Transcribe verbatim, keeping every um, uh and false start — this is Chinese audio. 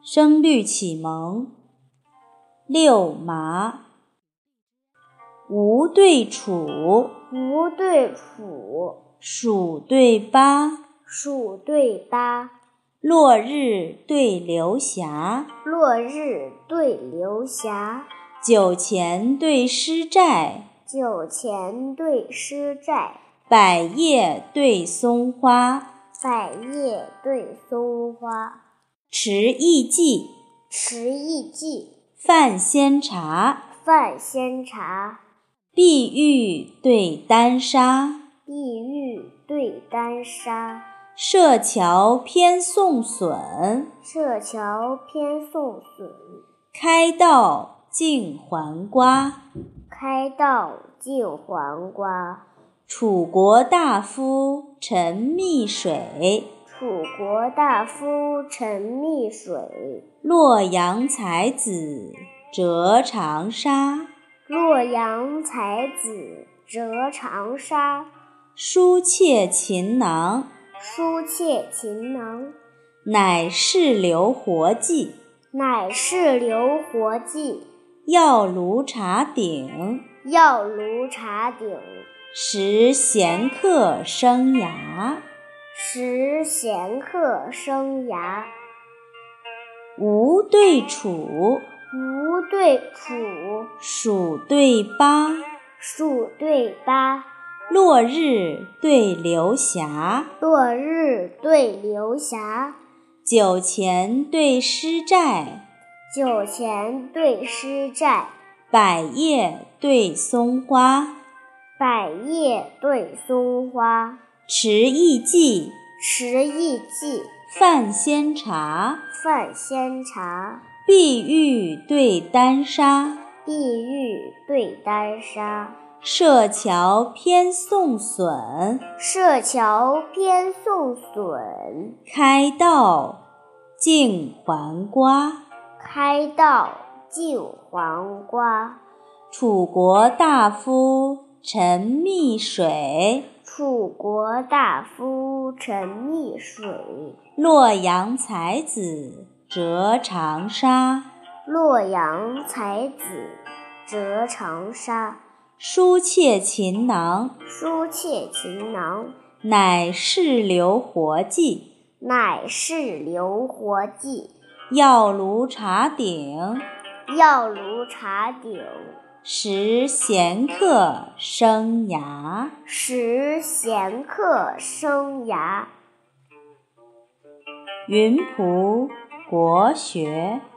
声律启蒙。六麻。吴对楚， 吴对楚， 蜀对巴， 蜀对巴， 落日对流霞， 落日对流霞， 酒前对诗寨， 酒前对诗寨， 百叶对松花， 百叶对松花， 持意记， 持意记， 泛仙茶， 泛仙茶， 碧玉对丹砂， 碧玉对丹砂， 设桥偏送笋， 设桥偏送笋， 开道净还瓜， 开道净还瓜， 楚国大夫沉溺水， 楚国大夫沉溺水， 洛阳才子折长沙， 洛阳才子折长沙， 书妾琴囊， 书妾琴囊， 乃是留活计， 乃是留活计， 药炉茶鼎， 药炉茶鼎， 食闲客生涯， 食闲客生涯， 吴对楚， 吴对楚， 蜀对巴， 蜀对巴， 落日对流霞， 落日对流霞， 酒前对诗寨， 酒前对诗寨， 百叶对松花， 百叶对松花， 持意记， 持意记， 泛仙茶， 泛仙茶， 碧玉对丹砂， 碧玉对丹砂， 设桥偏送笋， 设桥偏送笋， 开道净还瓜， 开道净还瓜， 楚国大夫沉溺水， 楚国大夫沉溺水， 洛阳才子折长沙， 洛阳才子折长沙， 书妾琴囊， 书妾琴囊， 乃是留活计， 乃是留活计， 药炉茶鼎， 药炉茶鼎， 食闲客生涯， 食闲客生涯。 云仆国学。